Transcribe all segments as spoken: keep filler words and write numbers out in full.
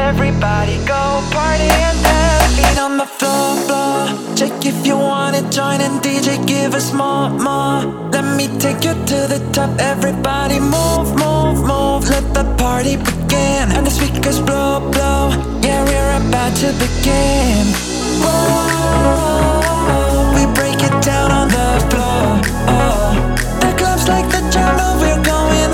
Everybody go party and dance. Feet on the floor, floor. Check if you wanna join and D J give us more, more. Let me take you to the top. Everybody move, move, move. Let the party begin. And the speakers blow, blow. Yeah, we're about to begin. Whoa, we break it down on the floor. Oh, the club's like the jungle, we're going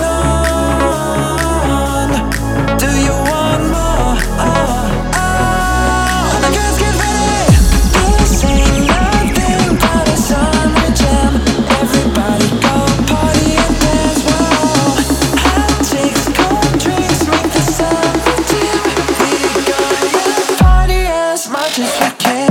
on. Do you want more? Oh, oh, the girls get ready. This ain't nothing but a summer jam. Everybody go party and dance. Whoa, hot chicks, cold drinks, make the summer jam. We gonna party as much as we can.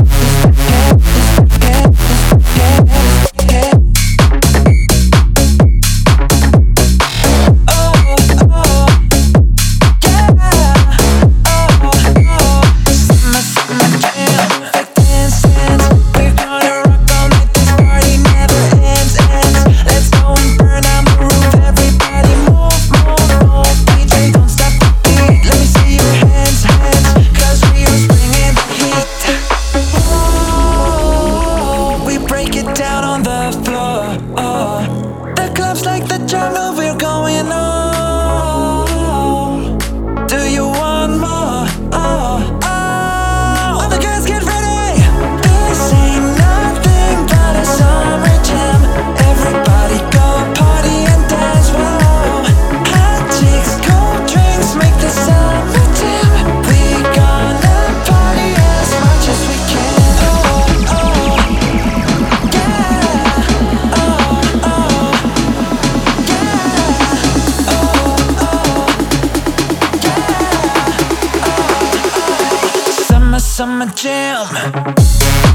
Down on the floor, oh, the club's like the jungle, we're going on. Do you want more? Oh, oh, all the girls get ready. This ain't nothing but a summer jam. Everybody go party and dance. Whoa, hot chicks, cold drinks, make the summer jam. We gonna party as much as we can. Oh, oh. Summer jam.